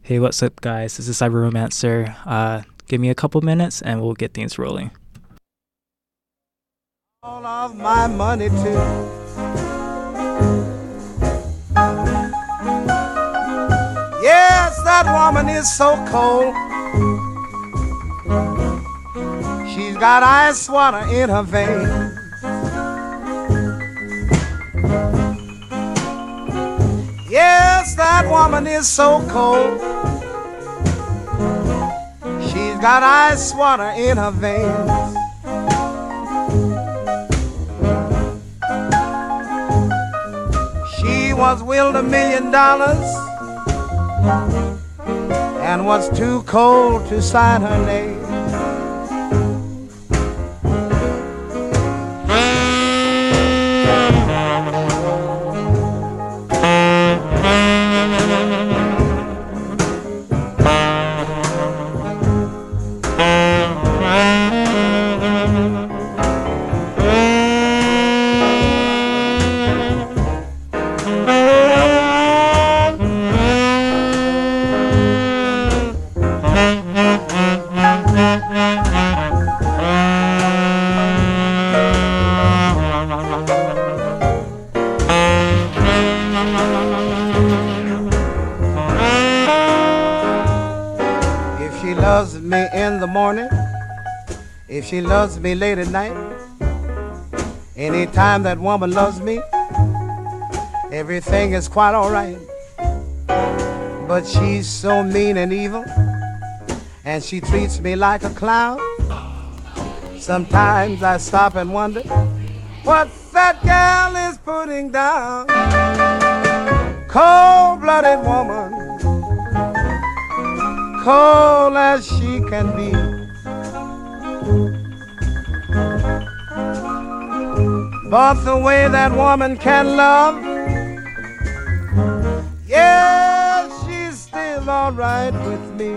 Hey, what's up, guys? This is Cyber Romancer. Give me a couple minutes and we'll get things rolling. All of my money too. Yes, that woman is so cold. She's got ice water in her veins. Yes, that woman is so cold. She's got ice water in her veins. She was willed $1 million and was too cold to sign her name. She loves me in the morning, if she loves me late at night, anytime that woman loves me, everything is quite all right. But she's so mean and evil, and she treats me like a clown. Sometimes I stop and wonder what that gal is putting down. Cold-blooded woman, cold as she can be. But the way that woman can love, yeah, she's still all right with me.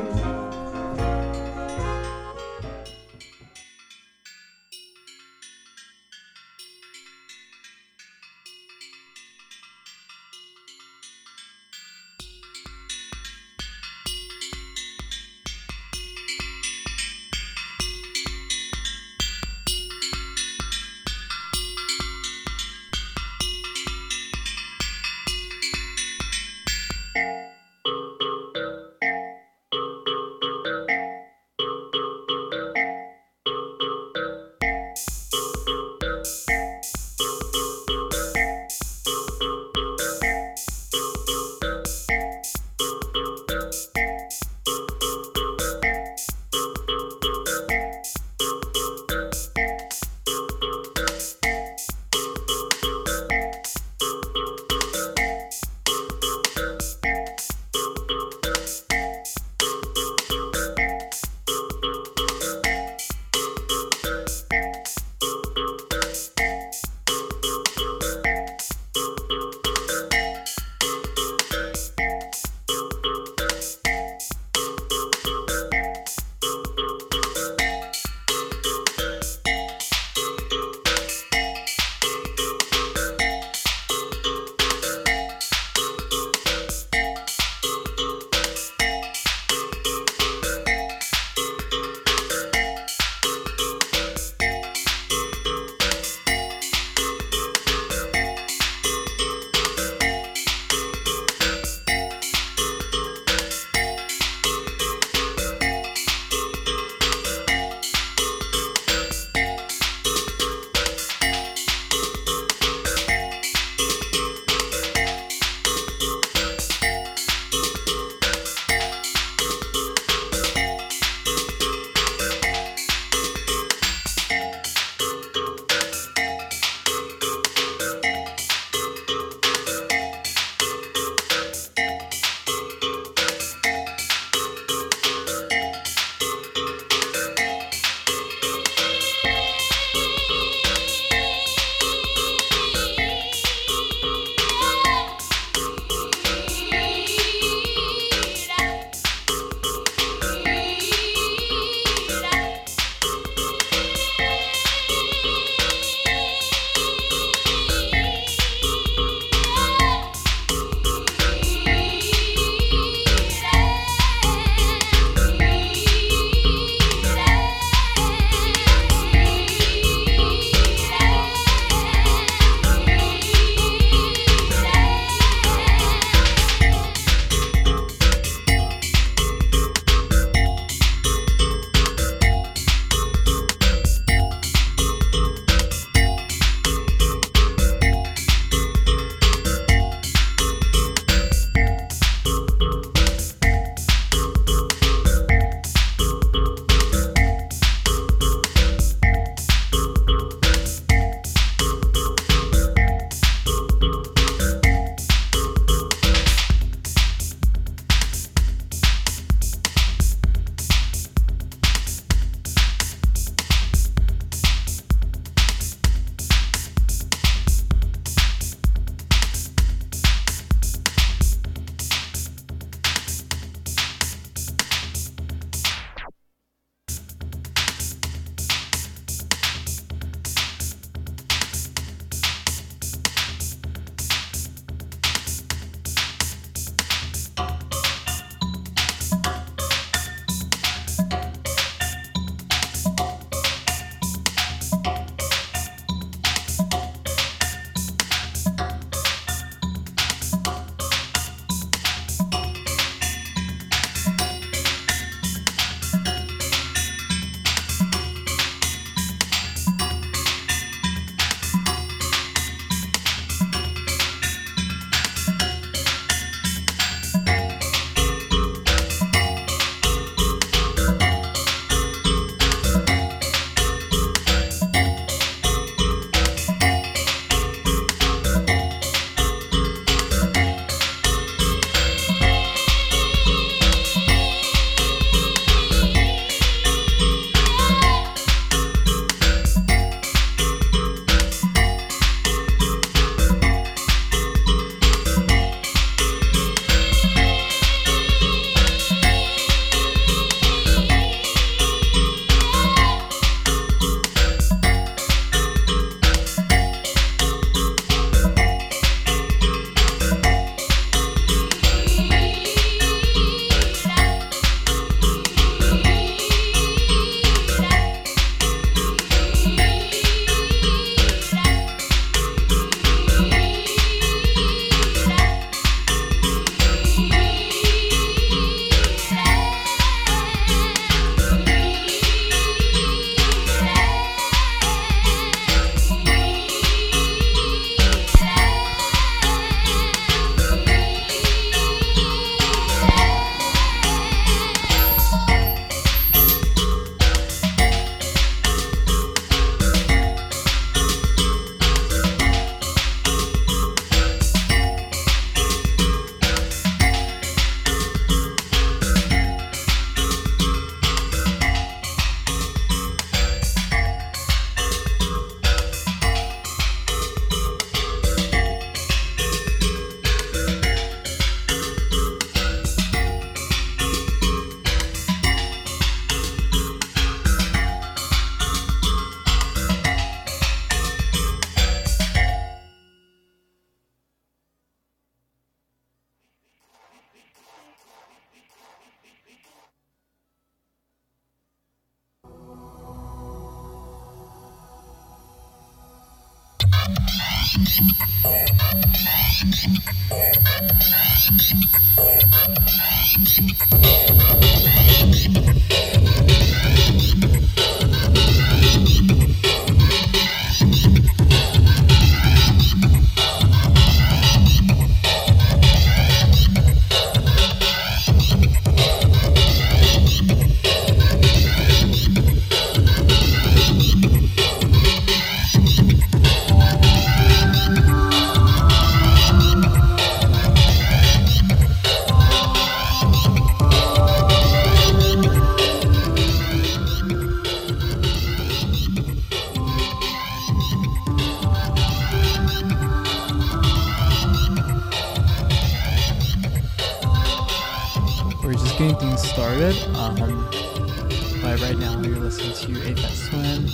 We're just getting things started. But right now you're listening to Apex Twin.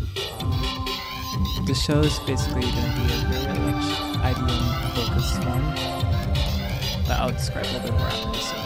This show is basically going to be a very much IDM focused one, but I'll describe a little bit more after this song.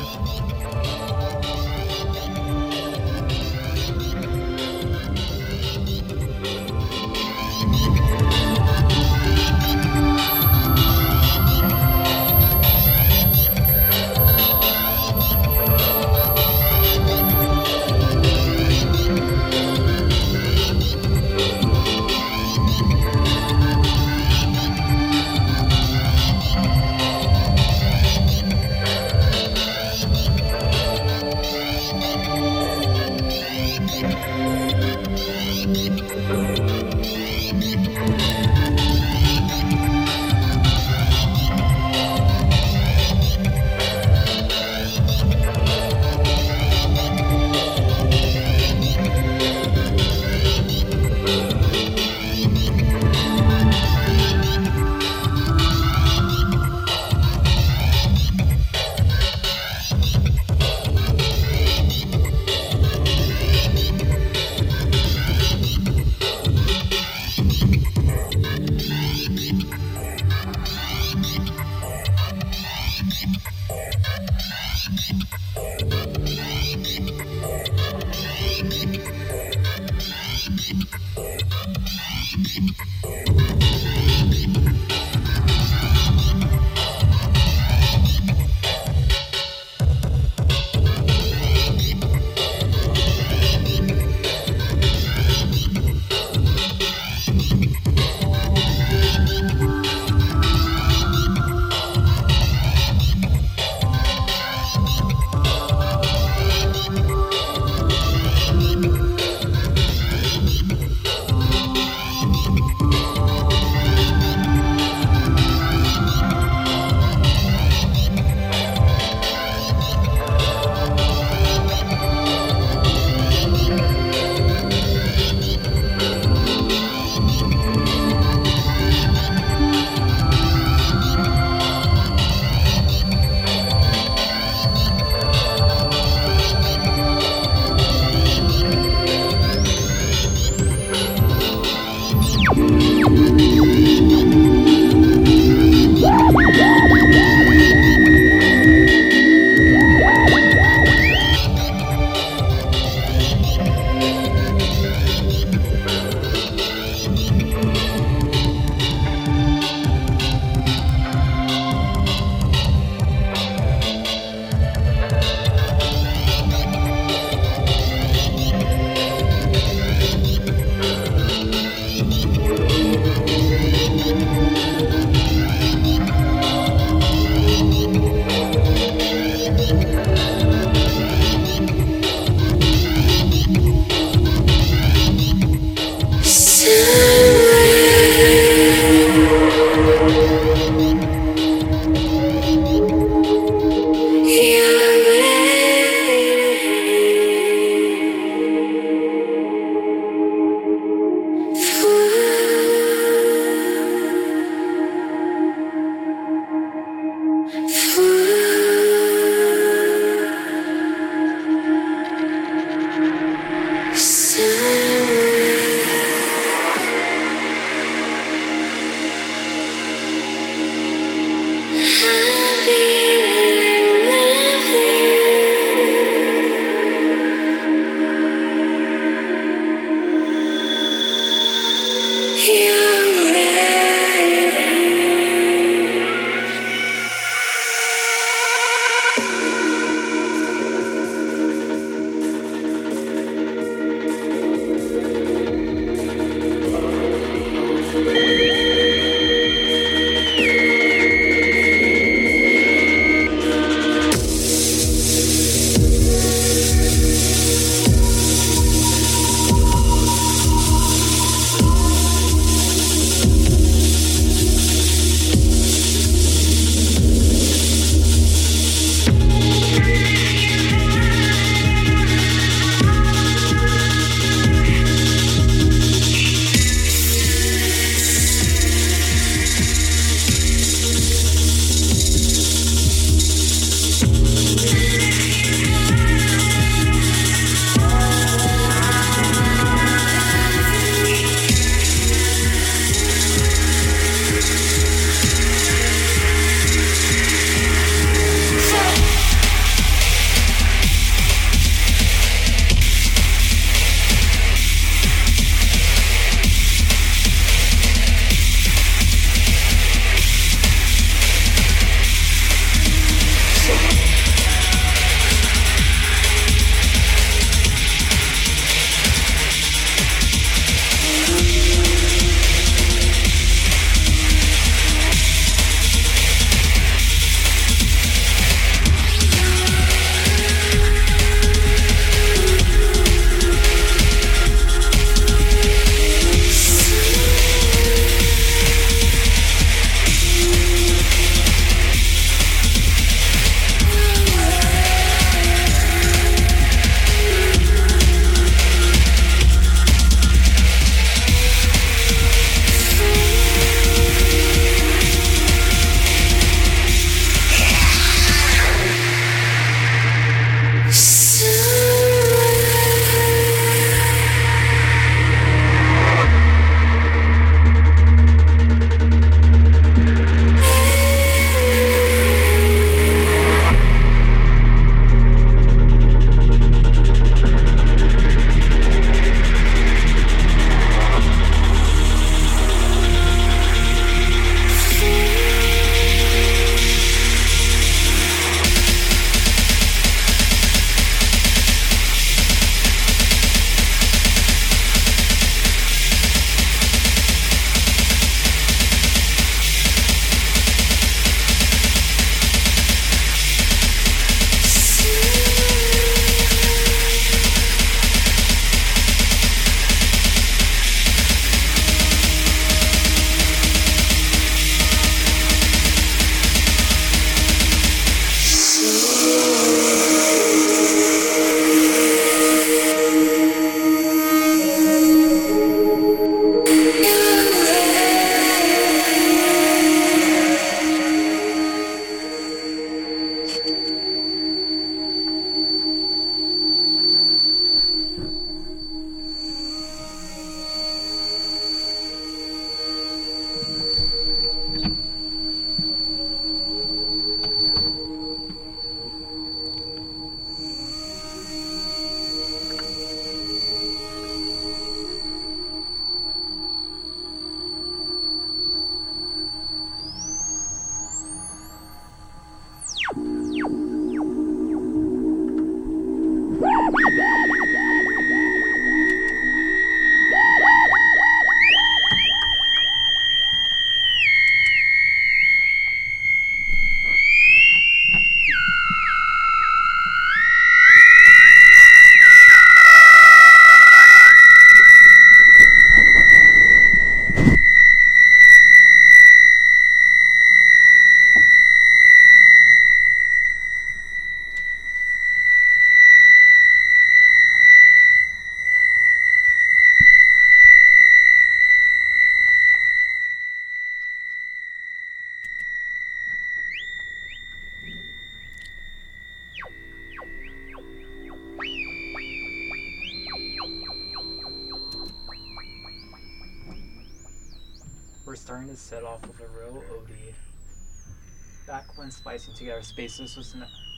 starting to set off with a real OD. Back when Splicing Together Spaces was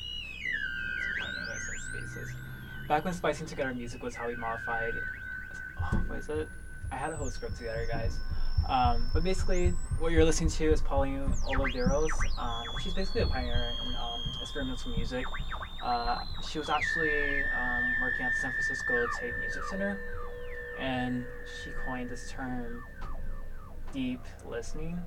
Back when Splicing Together Music was how we modified. What is it? I had a whole script together, guys. But basically, what you're listening to is Pauline Oliveros. She's basically a pioneer in experimental music. She was actually working at the San Francisco Tate Music Center, and she coined this term, deep listening.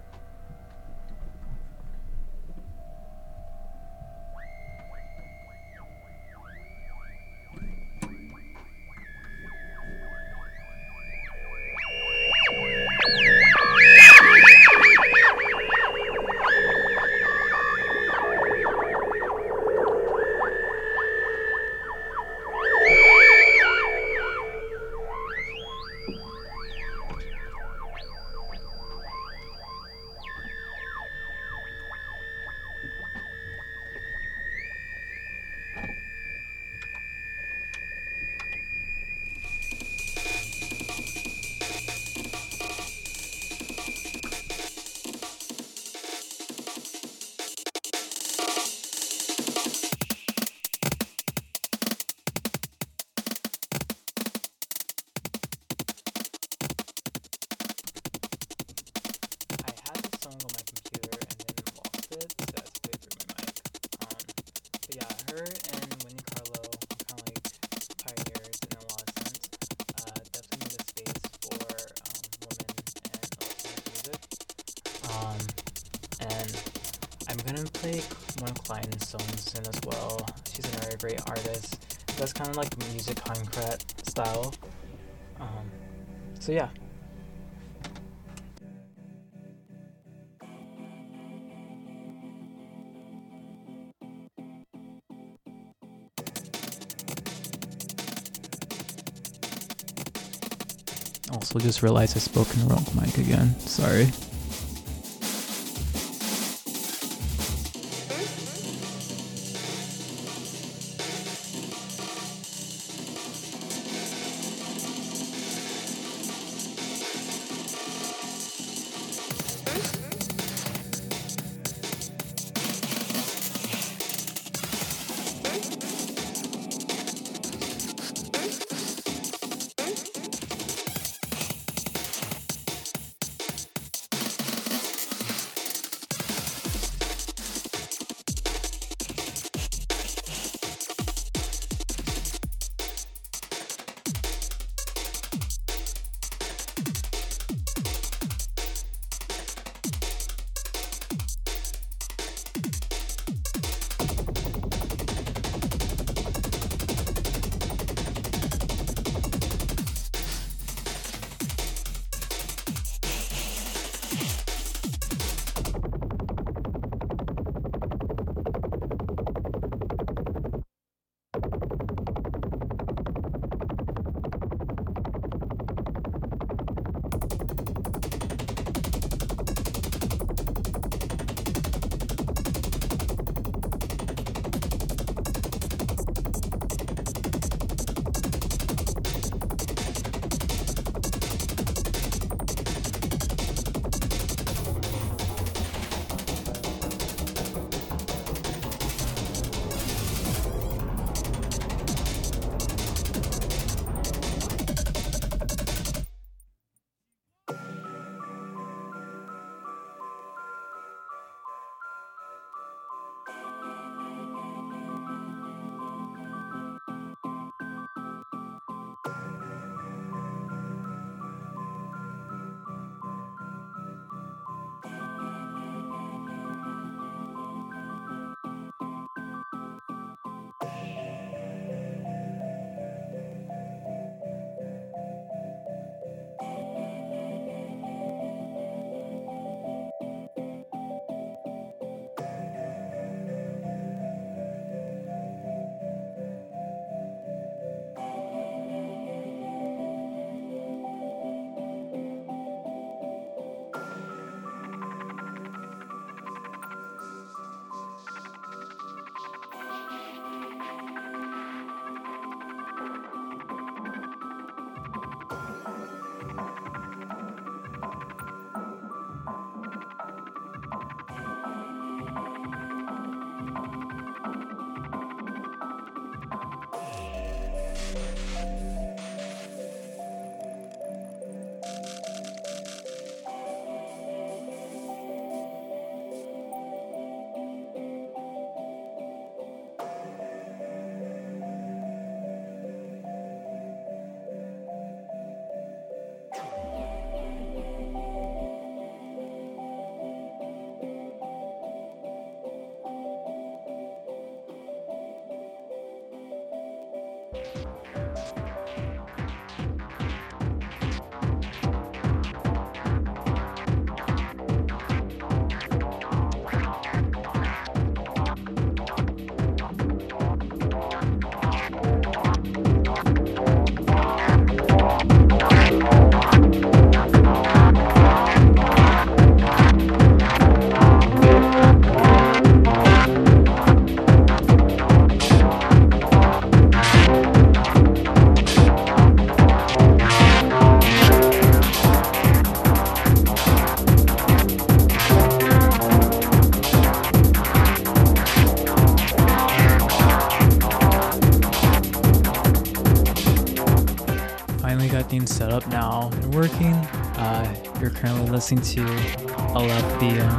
Play one of Clayton's songs in as well. She's a very great artist. Does kind of like music concrete style. So yeah. Also just realized I spoke in the wrong mic again. Sorry. got things set up now and working. You're currently listening to Alethea.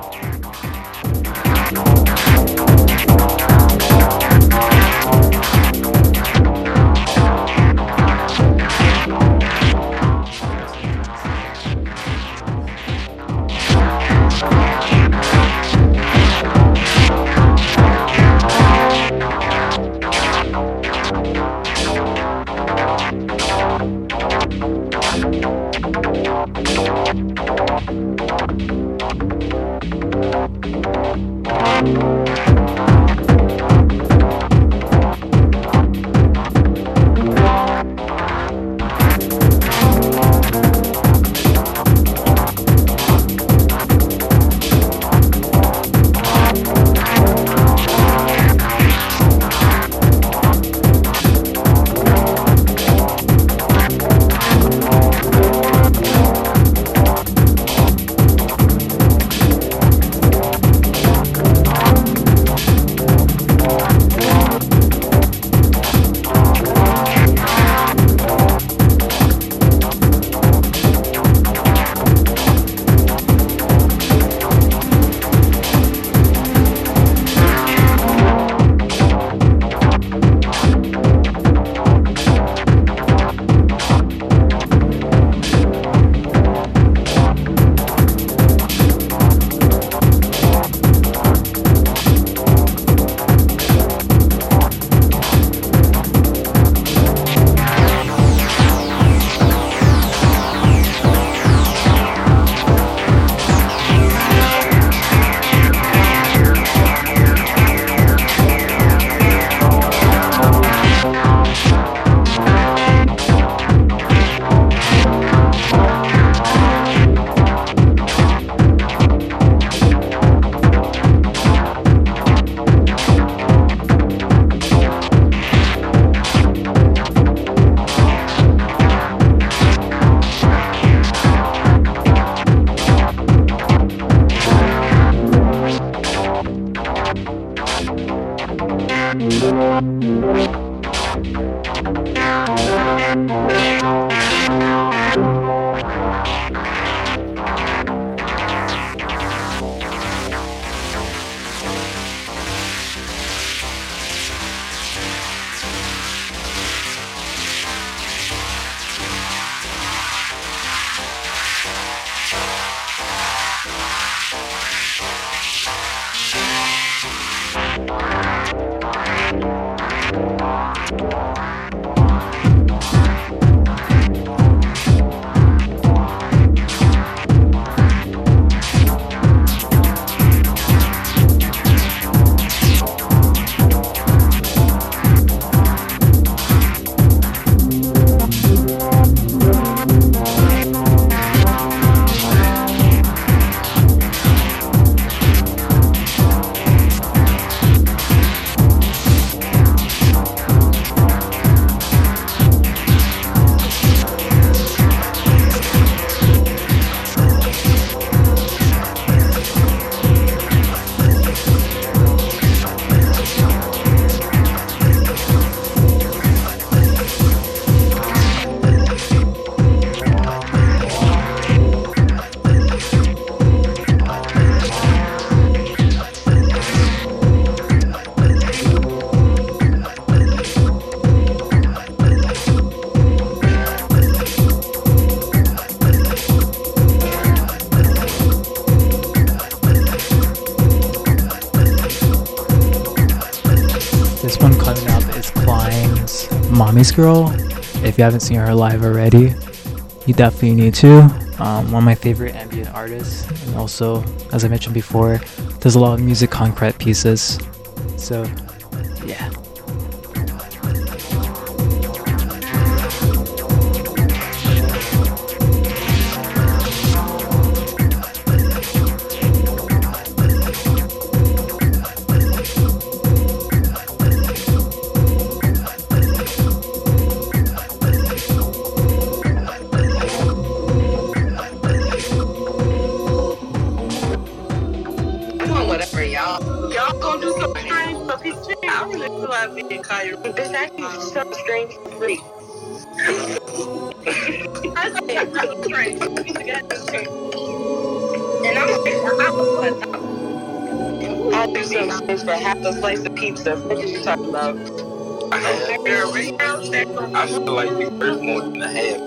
Mommy's Girl. If you haven't seen her live already, you definitely need to. One of my favorite ambient artists, and also, as I mentioned before, does a lot of music concrete pieces. So, yeah. I said, I'm trying to get together. And I'm like, I was like, I'll do some things for half a slice of pizza. What are you talking about? I feel like you worth more than a half.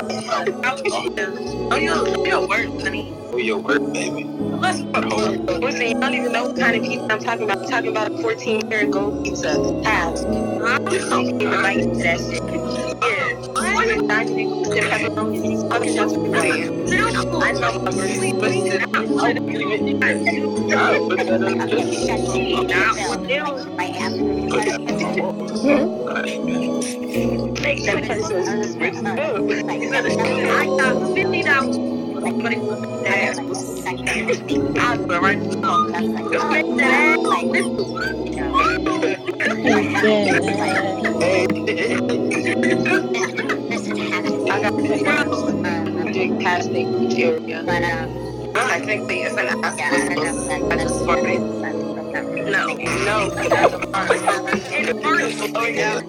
Oh, you're worth, honey. Oh, you're worth, baby. Listen, I don't even know what kind of pizza I'm talking about. I'm talking about a 14-karat gold pizza. Half. I don't even like that shit. Yeah. I know my make that person rich as I got $50. But it was that. I'll go right now. Just make that I got $50. Big past the beach area. But I think the it's an I just for me. No. Oh yeah.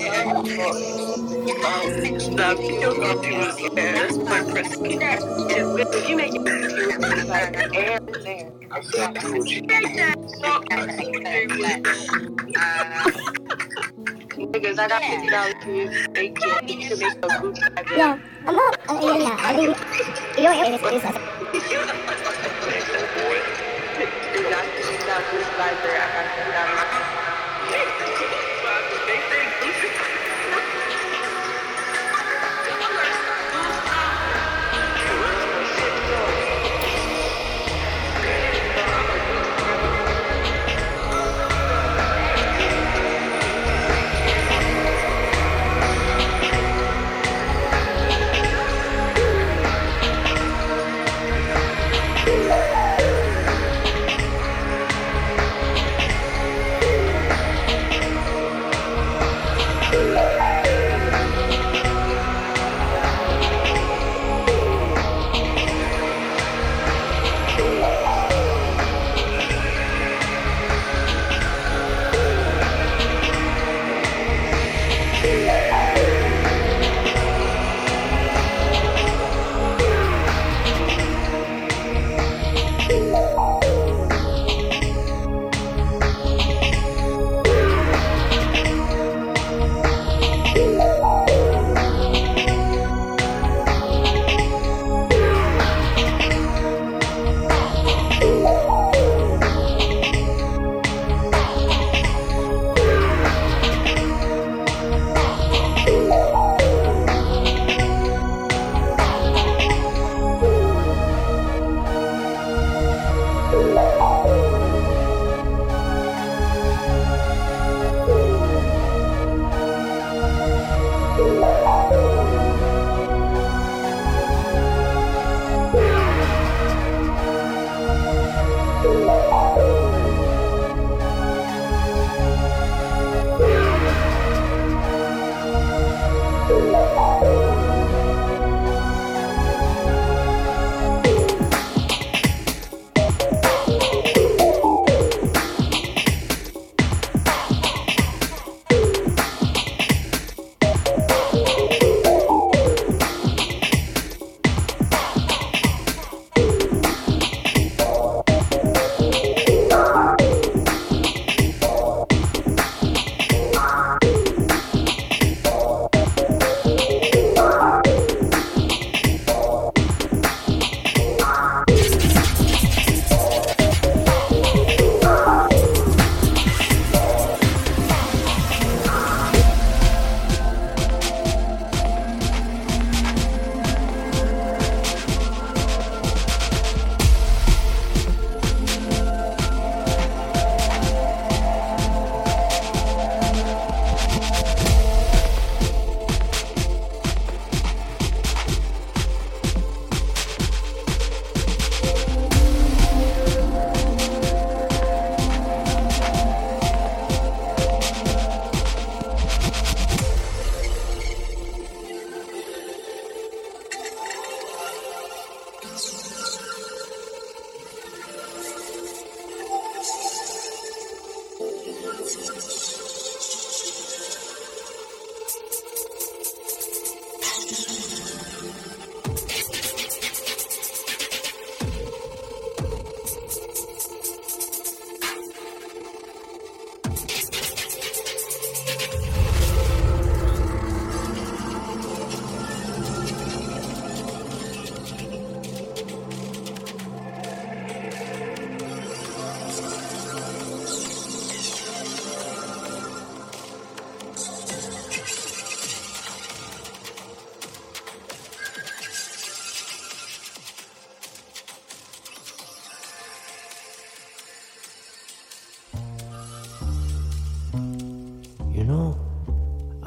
The video was my Christmas. If you make it like air there. I feel Gucci. Because I got $50 for you. They can't need to make a Gucci bag. Yeah, I'm not. Yeah, I mean, you don't have any excuse.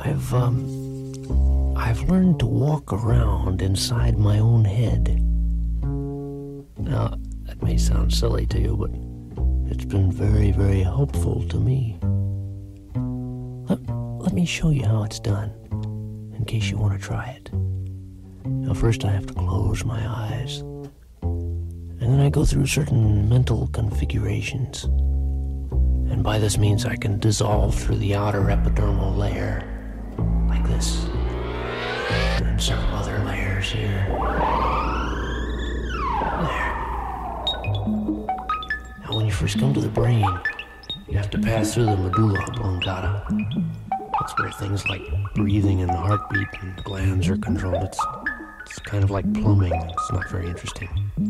I've learned to walk around inside my own head. Now, that may sound silly to you, but it's been very, very helpful to me. Let me show you how it's done, in case you want to try it. Now, first I have to close my eyes, and then I go through certain mental configurations. And by this means I can dissolve through the outer epidermal layer, like this. And then several other layers here. There. Now when you first come to the brain, you have to pass through the medulla oblongata. That's where things like breathing and heartbeat and glands are controlled. It's kind of like plumbing. It's not very interesting.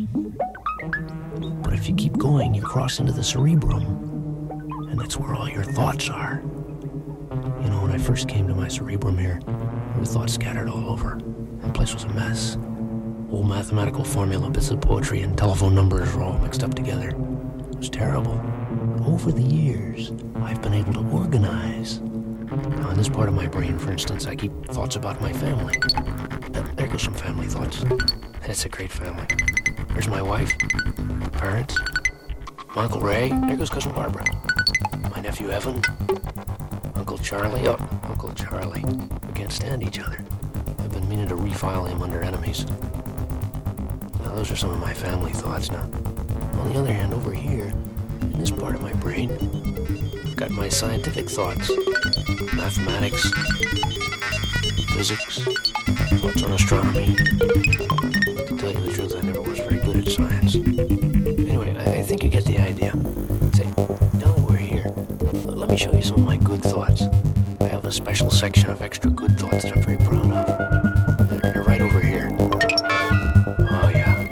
But if you keep going, you cross into the cerebrum. And that's where all your thoughts are. You know, when I first came to my cerebrum here, there were thoughts scattered all over. The place was a mess. Old mathematical formula, bits of poetry, and telephone numbers were all mixed up together. It was terrible. Over the years, I've been able to organize. Now, in this part of my brain, for instance, I keep thoughts about my family. There goes some family thoughts. It's a great family. There's my wife, parents, my Uncle Ray. There goes Cousin Barbara. My nephew Evan, Uncle Charlie. Oh, Uncle Charlie. We can't stand each other. I've been meaning to refile him under enemies. Now, those are some of my family thoughts. Now, on the other hand, over here, in this part of my brain, I've got my scientific thoughts. Mathematics, physics, thoughts on astronomy. To tell you the truth, I never was very good at science. Anyway, I think you get the idea. Say, now that we're here, let me show you some of my good thoughts. I have a special section of extra good thoughts that I'm very proud of. They're right over here. Oh, yeah.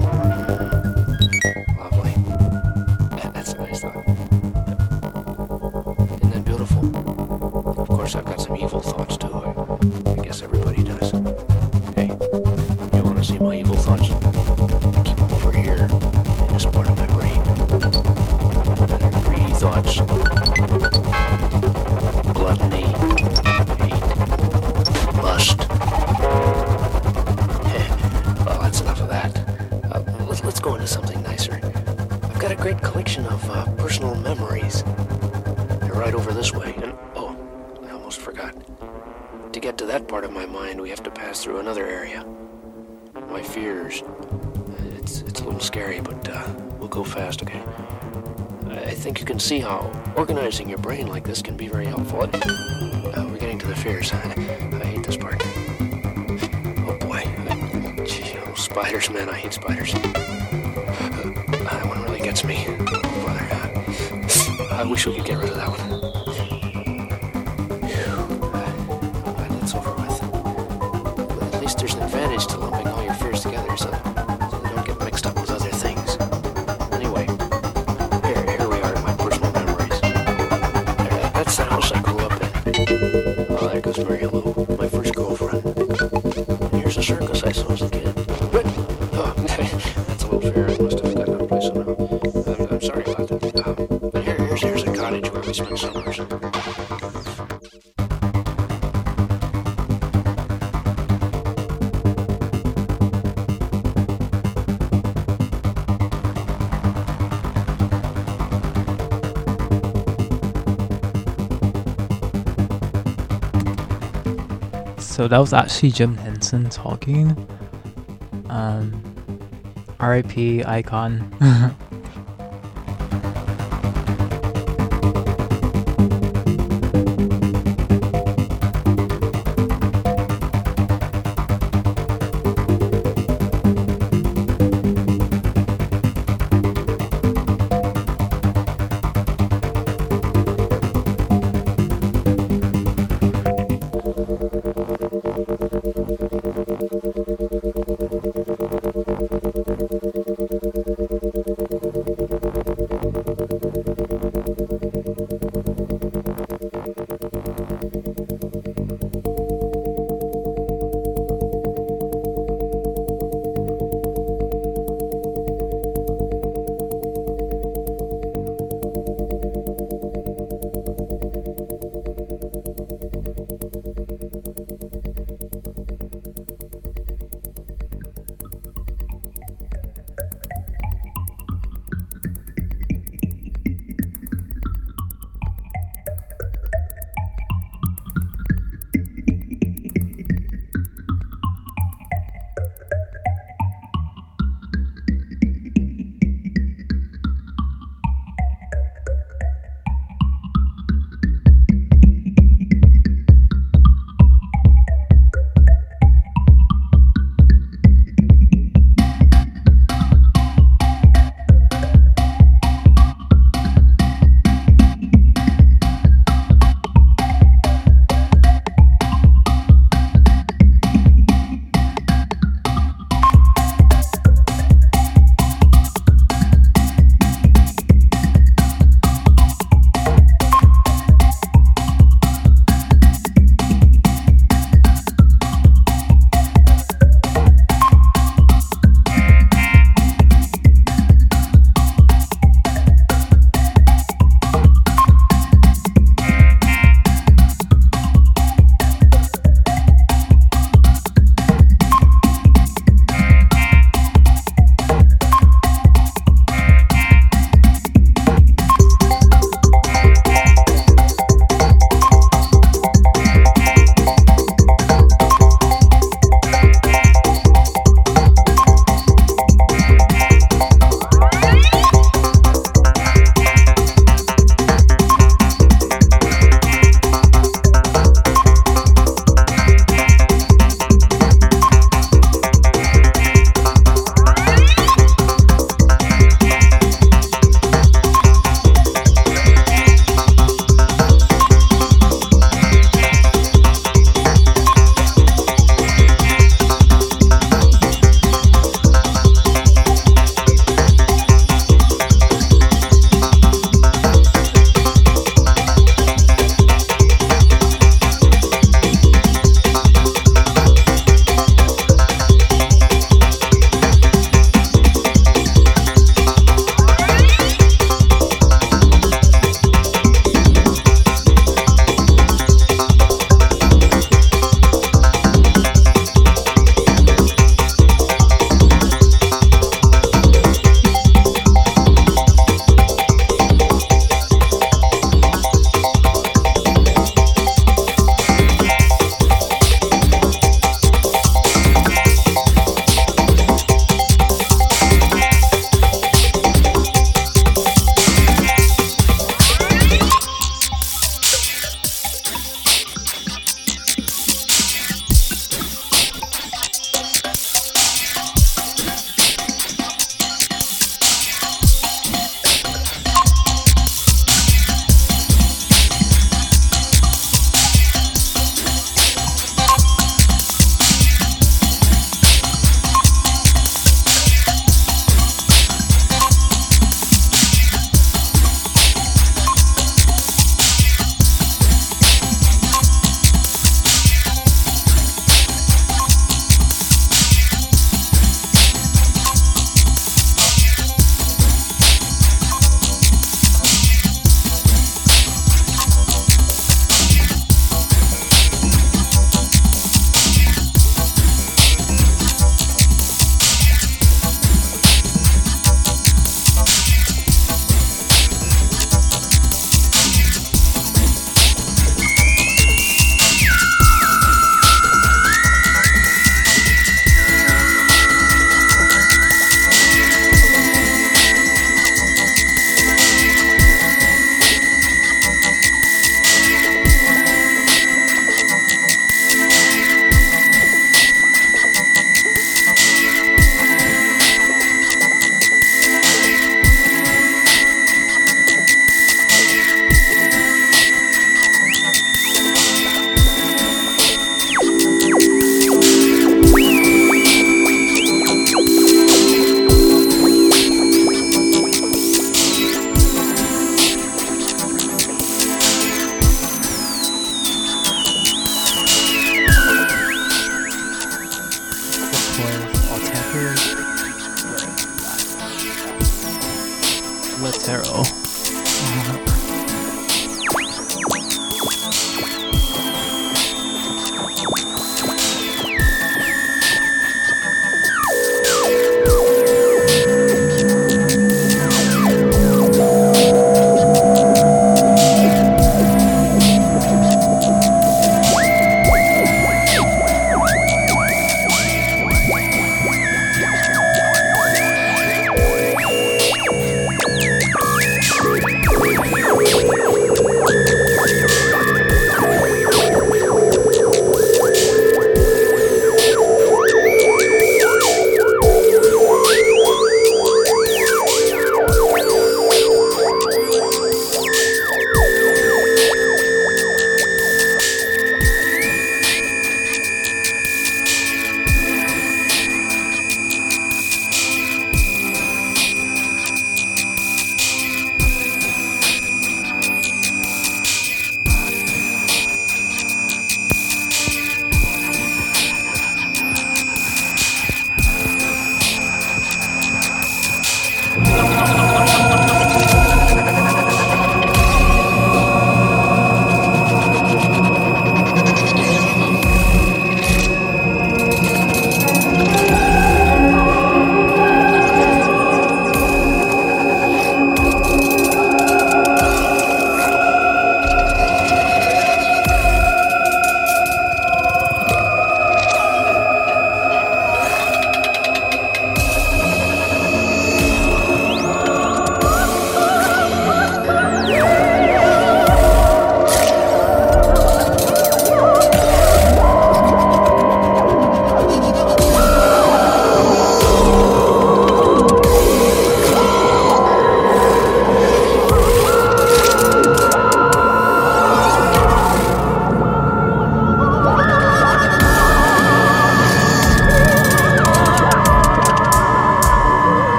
Lovely. That's a nice thought. Isn't that beautiful? Of course, I've got some evil thoughts, too. I guess everybody does. Hey, you want to see my evil thoughts? Keep them over here, in this part of my brain. Greedy thoughts. Gluttony. Hate. Lust. Well, that's enough of that. Let's go into something nicer. I've got a great collection of personal memories. They're right over this way. And, oh, I almost forgot. To get to that part of my mind, we have to pass through another area. My fears. It's a little scary, but we'll go fast, okay? I think you can see how organizing your brain like this can be very helpful. We're getting to the fears. I hate this part. Oh boy. Gee, oh, spiders, man, I hate spiders. That one really gets me. Brother, I wish we could get rid of that one. That's over with. But at least there's an advantage to lumping all your fears together so they don't get mixed up with other things. Anyway, here we are in my personal memories. That's the house I grew up in. Oh, there goes Mary Lou, my first girlfriend. And here's a circus I saw as a kid. Oh, that's a little fair. I must have gotten out of place somehow. I'm sorry about that. But here's a cottage where we spent summers. So that was actually Jim Henson talking. R.I.P. Icon.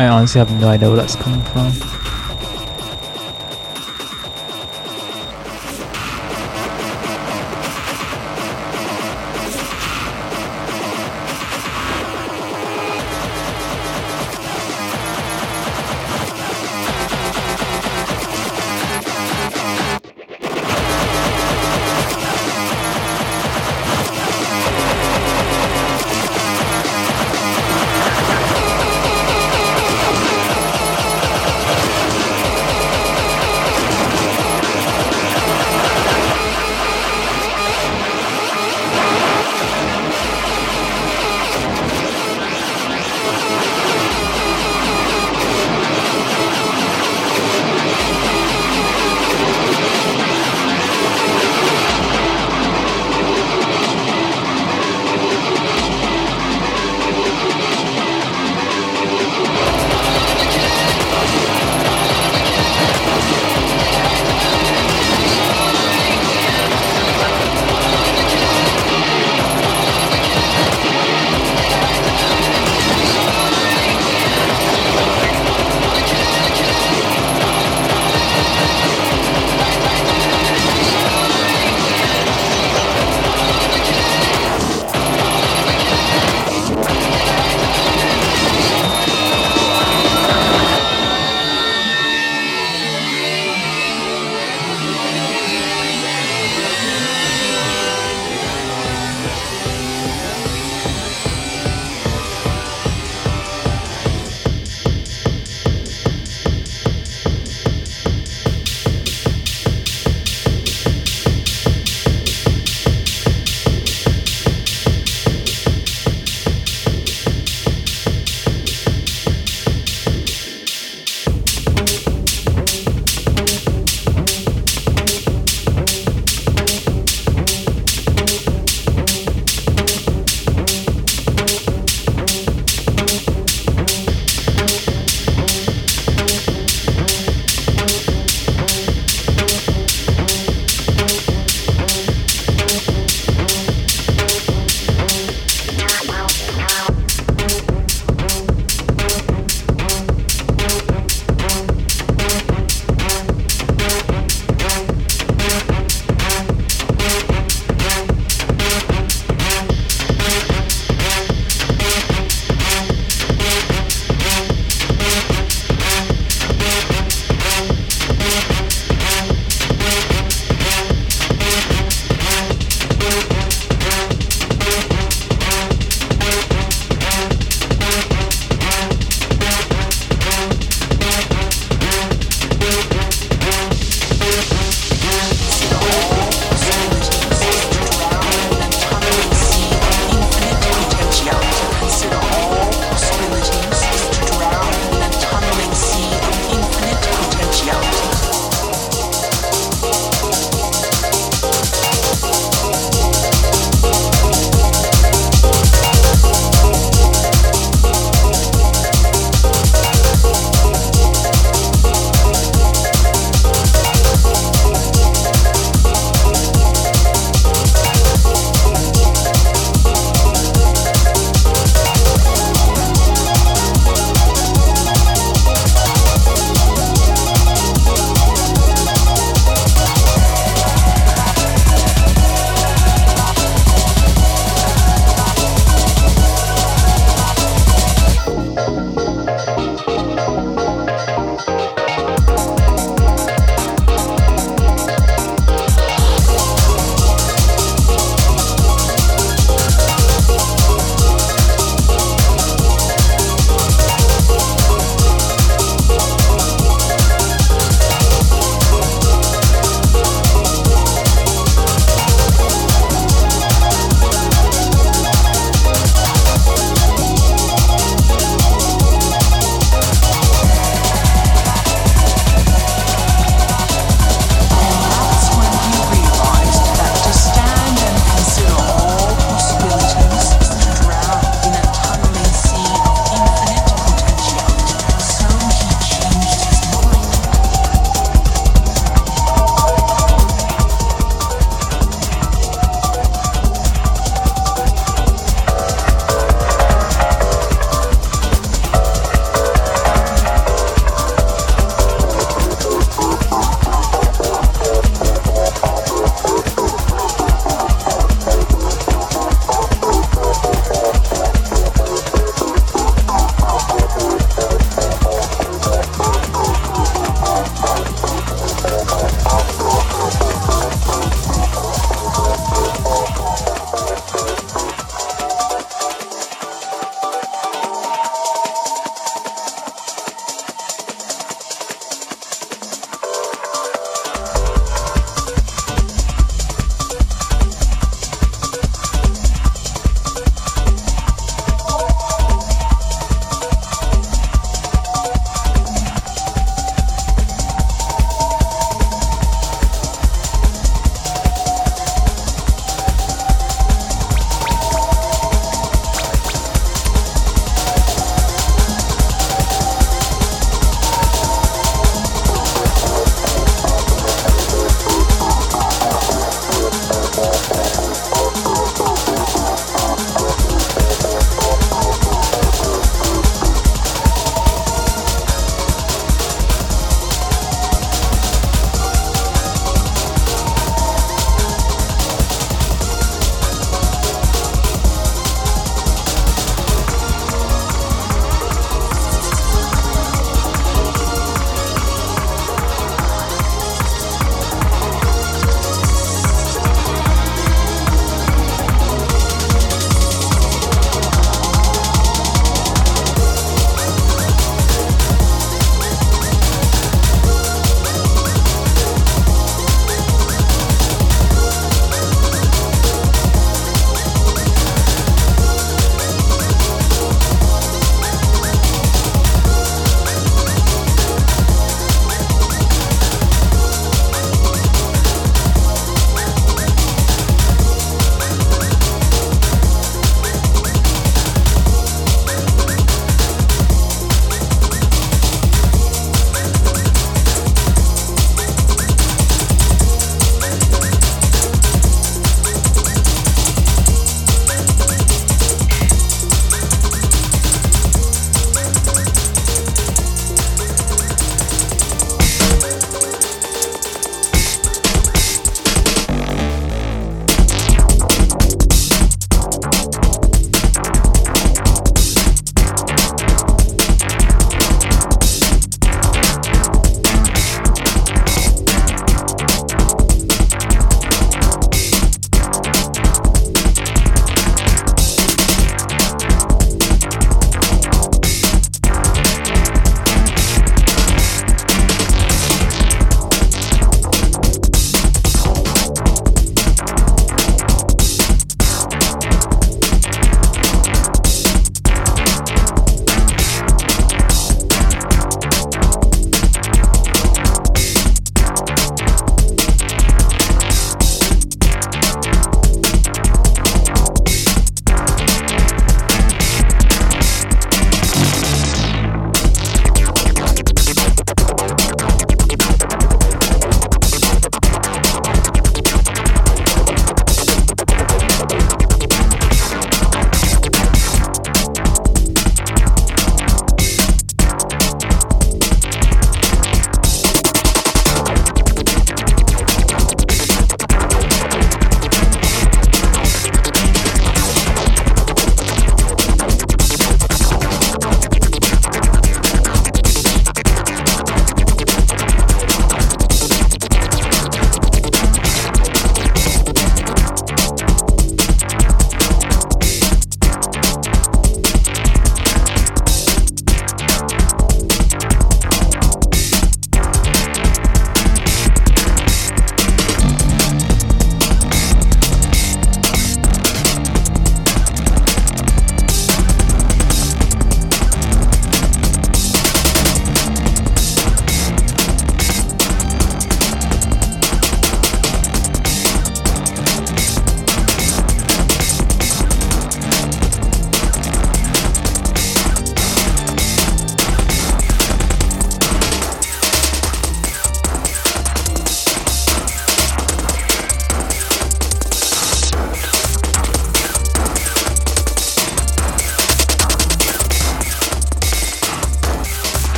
I honestly have no idea where that's coming from.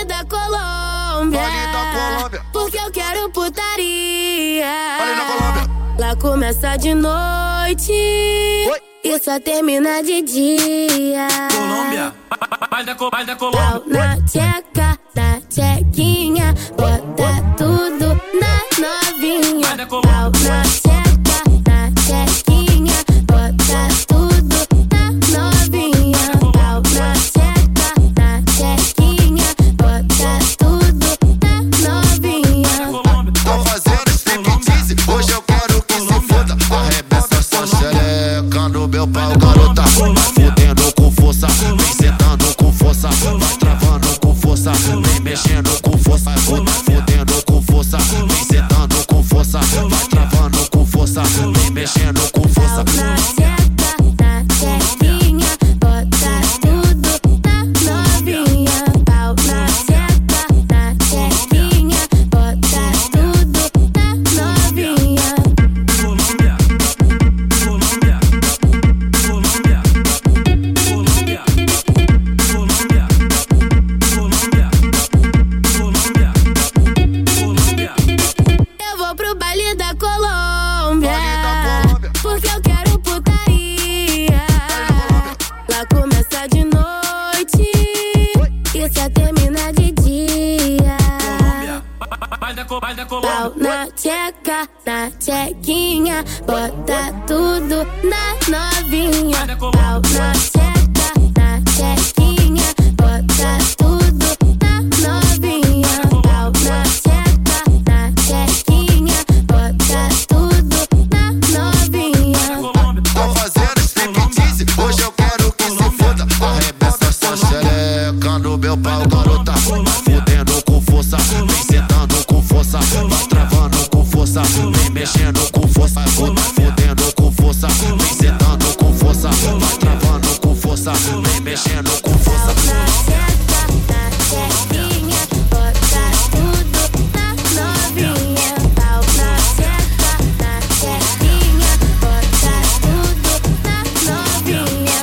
da Colômbia. Vale da Colômbia. Porque eu quero putaria. Vale da Colômbia. Lá começa de noite. Oi. E só termina de dia. Colômbia, vai da Pau Colômbia. na tcheca, na tchequinha. Bota tudo na novinha. Vai da Pau Colômbia. na tcheca, na tchequinha. Bota tudo na novinha. Pau na tcheca, na tchequinha. Bota tudo na novinha. Tô fazendo striptease, hoje eu quero que se foda. Arrebenta essa xereca no meu pau, garota. Vai fudendo com força, vem sentando com força. Vai travando com força, vem mexendo com força. Fudendo com força, vem sentando com força. Vai travando com força, vem mexendo com força. Pau na tcheca, na tchequinha. Bota tudo na novinha. Pau na tcheca, na tchequinha. Bota tudo na novinha. Colômbia, Colômbia, Colômbia, Colômbia, Colômbia, Colômbia, Colômbia, Colômbia. Eu vou pro baile da Colômbia. Baile da Colômbia. Porque eu quero putaria. Lá começa de noite. E só termina de dia. Vai da Pau Colômbia. na tcheca, na tchequinha. Bota tudo na novinha. Pau na tcheca, na tchequinha. Bota tudo na novinha. Pau na tcheca, na tchequinha. Bota tudo na novinha. Tô fazendo striptease, hoje eu quero que se foda. Arrebenta essa xereca no meu pau, garota. Vai fudendo com força, vem sentando com força. Vai travando com força, vem mexendo com força. Fudendo com força, vem sentando com força. Vai travando com força, vem mexendo com força. Na tcheca, na tchequinha. Bota tudo na novinha. Pau na tcheca, na tchequinha. Bota tudo na novinha.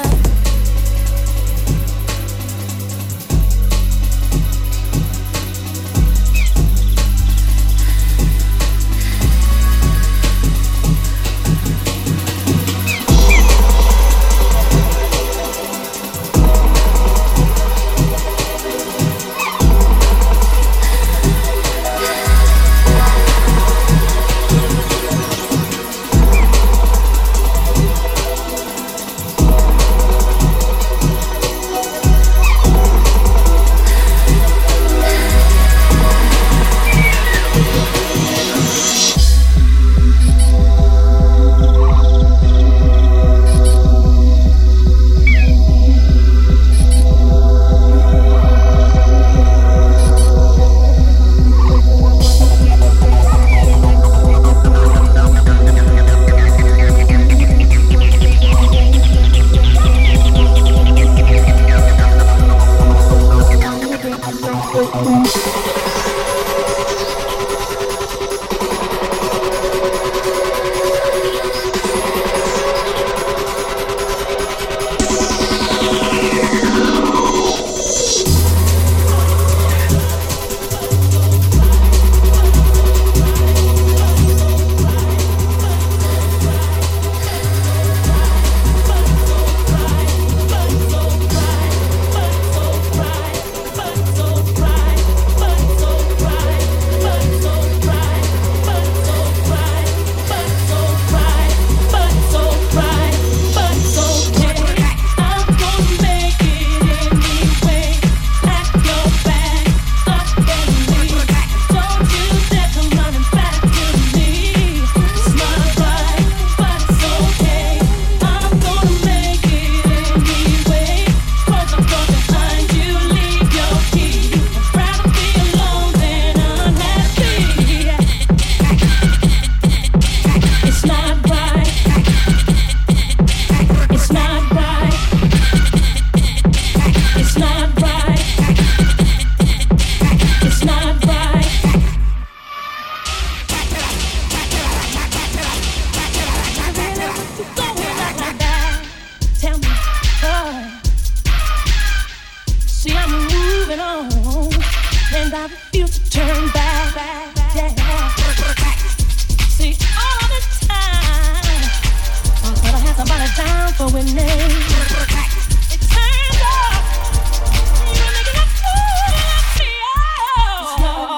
I refuse to turn back. Yeah. See, all the time, I thought I had somebody down for winning. It turns out you're making a fool of me. Oh.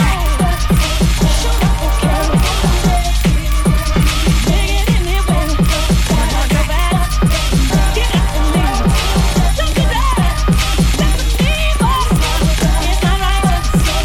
Show up, okay. Dig it anyway. Why not go back? Get up and leave. Don't do that. That's the evil. It's not right.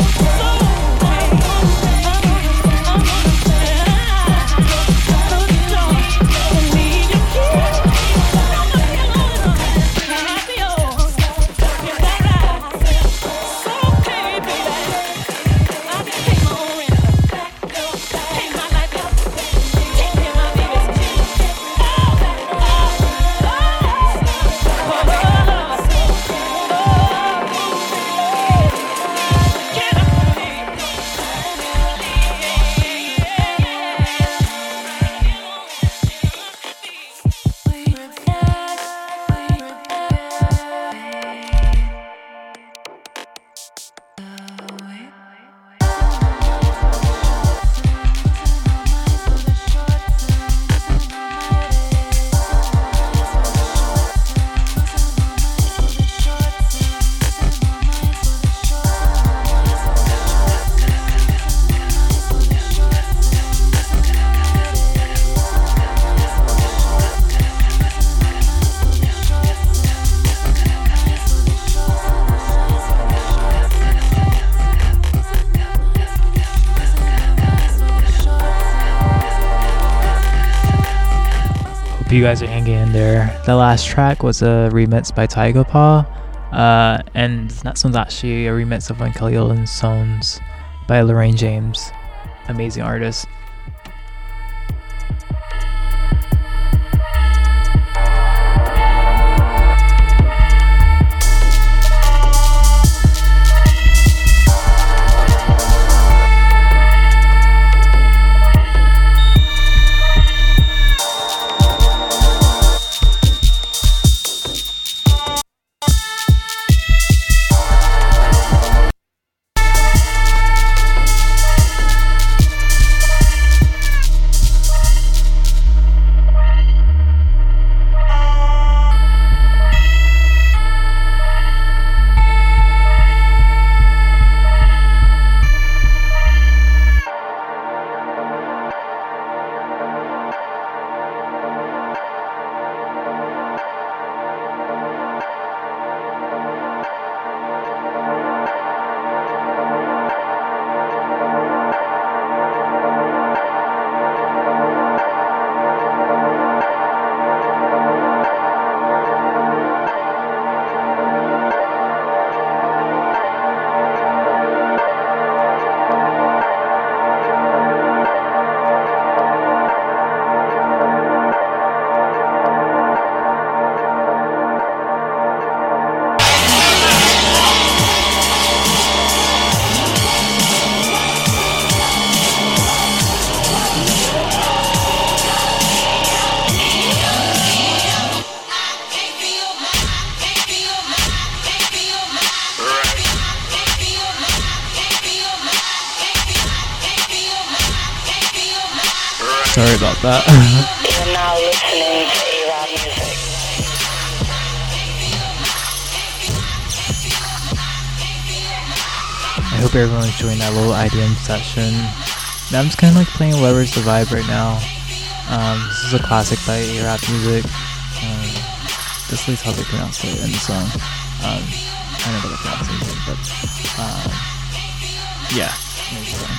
You guys are hanging in there. The last track was a remix by Tyga Paw, and that song's actually a remix of one of Kelly Rowland's songs by Lorraine James, amazing artist. Sorry about that. You're now listening to A-Rod Music. I hope everyone's enjoying that little IDM session. I'm just kind of like playing Whatever's the Vibe right now. This is a classic by A-Rod Music. This is how they pronounce it in the song. I don't know how to pronounce it, but yeah, amazing song.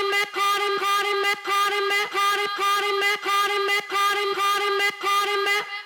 Caught him,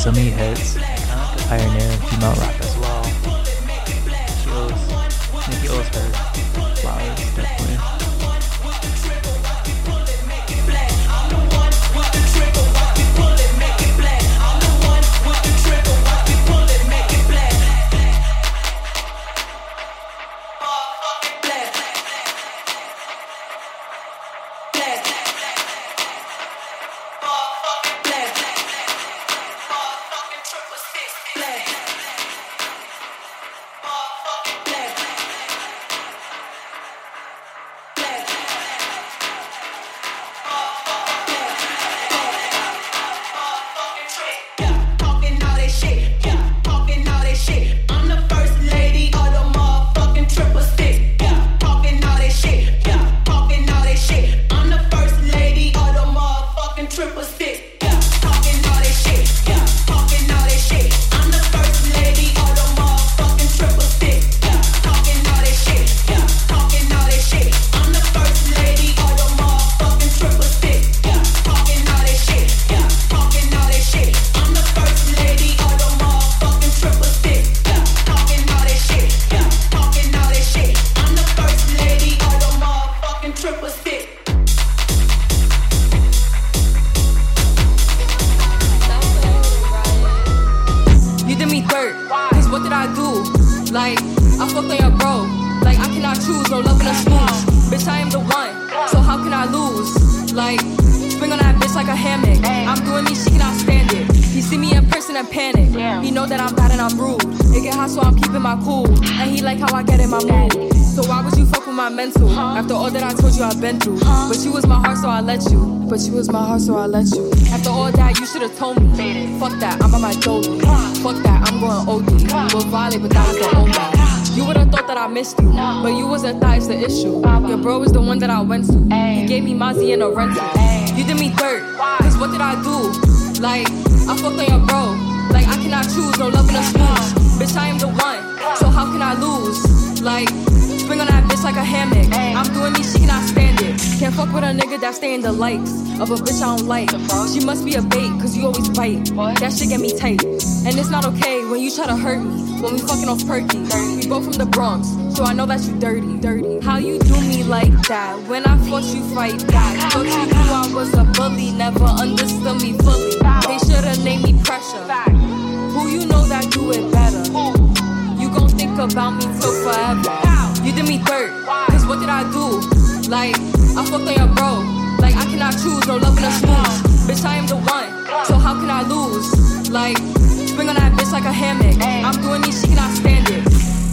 so many hits. Pioneer in female rap as well. She owes her flowers, definitely. But you was my heart, so I let you. After all that, you should've told me. Fuck that, I'm on my dolly. Fuck that, I'm going OD. We'll violate, but that was the old guy. You would've thought that I missed you, but you wasn't that is the issue. Your bro is the one that I went to. He gave me Mozzie in a rental. You did me dirt, cause what did I do? Like, I fucked on your bro. Like, I cannot choose, no love in a smooch. Bitch, I am the one, so how can I lose? Like, spring on that bitch like a hammock. I'm doing me, she cannot stand it. Can't fuck with a nigga that stay in the likes of a bitch I don't like. She must be a bait, cause you always bite. That shit get me tight. And it's not okay when you try to hurt me. When we fucking off perky. We both from the Bronx, so I know that you dirty. How you do me like that? When I fought you fight back. Thought you knew I was a bully, never understood me fully. They should've named me Pressure. Who you know that do it better? You gon' think about me till forever. You did me dirt, cause what did I do? Like, I fucked on your bro. Like, I cannot choose, no love in a smooch. Bitch, I am the one, so how can I lose? Like, spring on that bitch like a hammock. I'm doing me, she cannot stand it.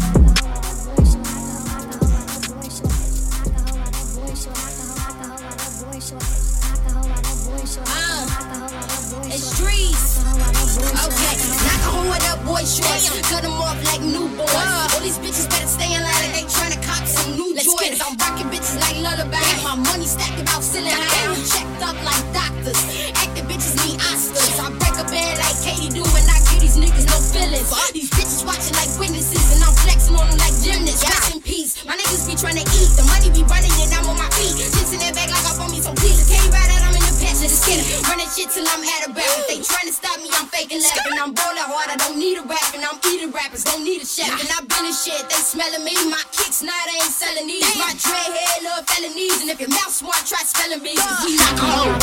It's streets. Okay, knock on with that boy shorts. Cut them off like newborns. All these bitches better stay in line like they tryna cop some new Jordans. I'm rocking bitches like lullaby. My money stacked about ceiling high. I'm checked up like doctors. Acting bitches need Oscars. I break a bed like Katie do and I give these niggas no feelings. These bitches watching like witnesses and I'm flexing on them like gymnasts. Rest in peace. My niggas be trying to eat. The money be running and I'm on my feet. Shit's in that bag like up on me, so please can't you ride out, I'm in the passenger seat. Running shit till I'm at a barrel. If they trying to stop me, I'm faking laughing. I'm rolling hard, I don't need a rap. And I'm eating rappers, don't need a chef. And I've been in shit, they smelling me. My kicks, nah, they ain't selling these. My dread head, love felonies. And if your mouth smart, try spelling me. Cause we knock a hoe.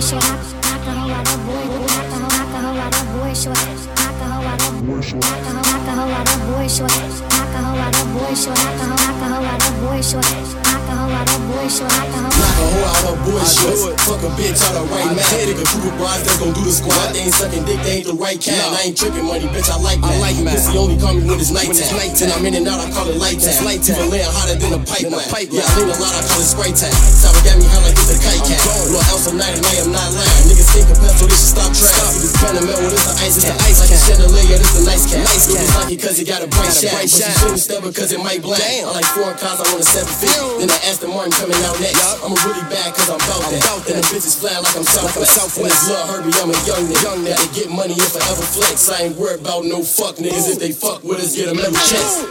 Fuck a bitch out of right now. Nigga, group of brides that's gon' do the squad. They ain't sucking dick, they ain't the right kind. I ain't tripping money, bitch, I like that. Pussy only call me when it's nighttime. And I'm in and out, I call it light time. Even laying hotter than a pipeline. Yeah, I lean a lot, I call it spray time. Sour got me high like it's a kite cat. Little ounce of night and I am not lying. Niggas think a pencil, this should stop trying. See this Panamel, well, this the ice cat. Like a chandelier, this the nice cat. Niggas like it cause it got a bright shine. But you shouldn't step because it might blind. I like foreign cars, I want a 750. Then I Aston Martin coming out next. I'm a really bad cause I'm bout that. And the bitches flying like I'm Southwest. And it's Lil Herbie, I'm a young nigga. Gotta get money and forever flex. I ain't worried about no fuck niggas. If they fuck with us, get them every chance.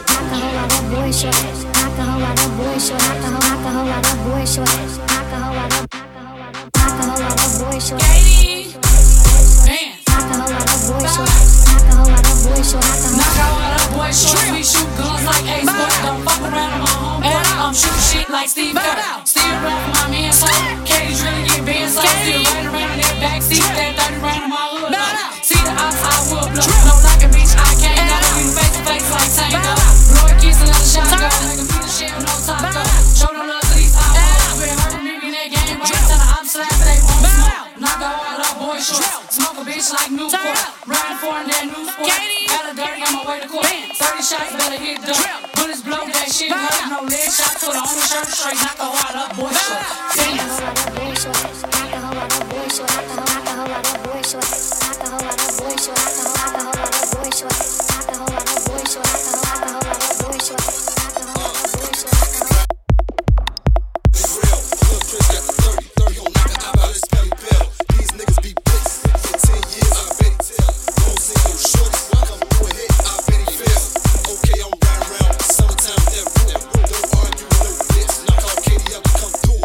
Katie, man. Knock out all the boys short. We shoot guns like Ace, but don't fuck around with my homeboy. I'm shooting shit like Steve Kerr. Still rap for my man, so Katie's really get bent, so still right around in that backseat. That 30 round in my hood. See the outside wood blow. No like a bitch, I can't go. You face to face like Tango. Blow a kiss, another shot, go. Like a piece of shit with no taco. Show no love to these outlaws. Been hurting me in that game. Wait till the I'm slap, they won't smoke. Knock out all the boys short. Smoke a bitch like Newport. Riding for in that new sport. Got a dirty on my way to court. 30 shots, better hit the bullets blow, that shit hurt. No leg shot, put on the shirt straight. Knock a whole lot of boy short. Come through.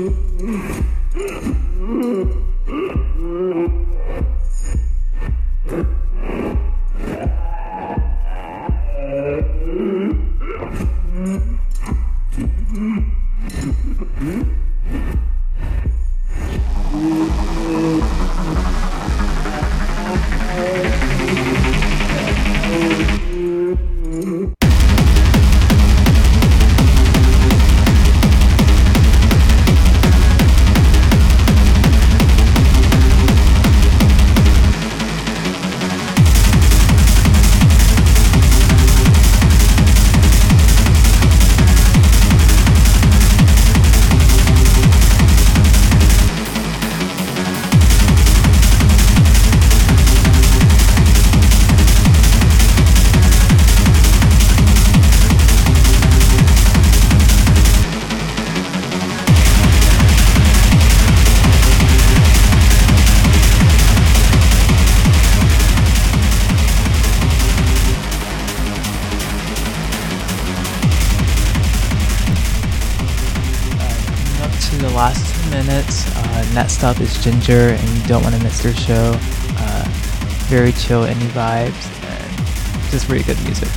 Last 2 minutes. Next up is Ginger, and you don't want to miss their show. Very chill indie vibes and just really good music.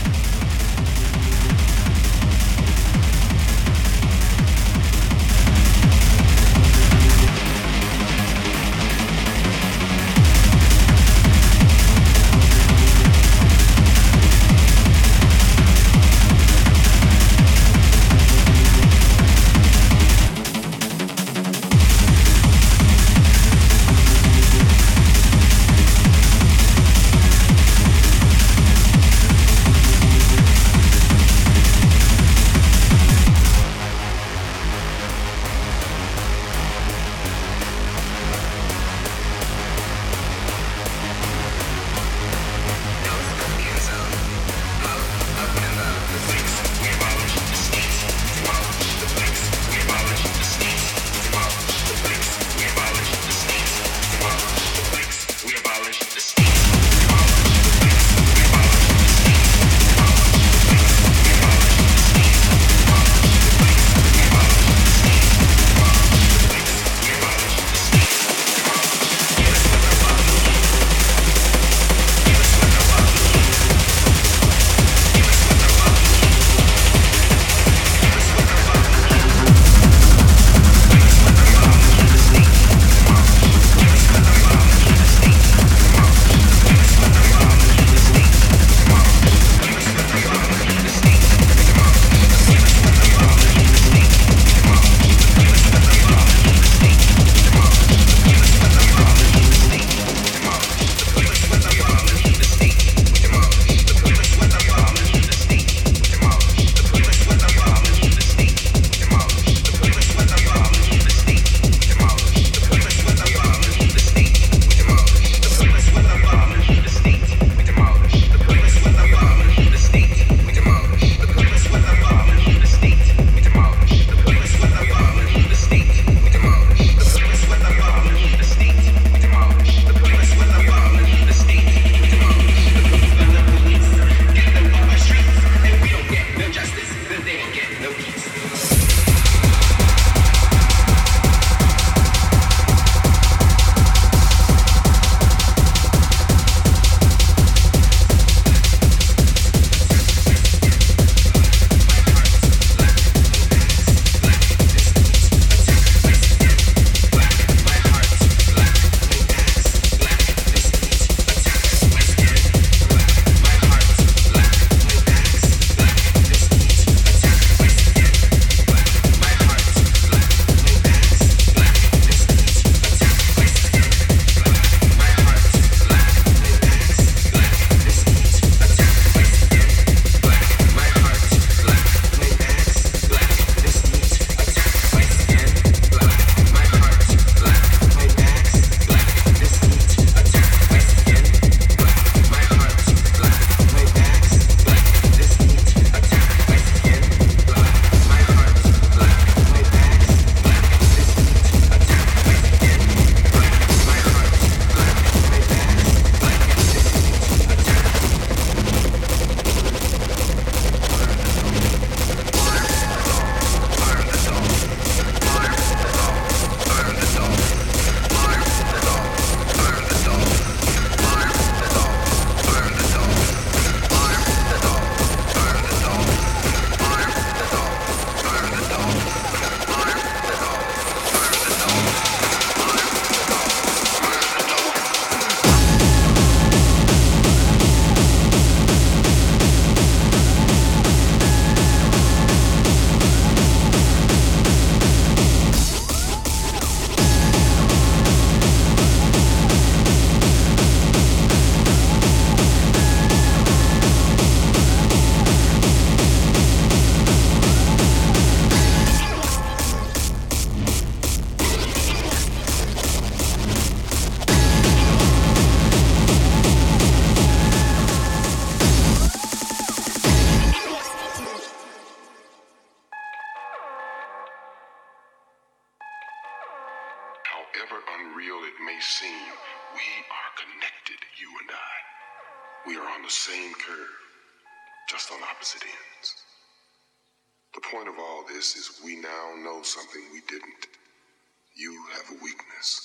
However unreal it may seem, we are connected, you and I. We are on the same curve, just on opposite ends. The point of all this is we now know something we didn't. You have a weakness.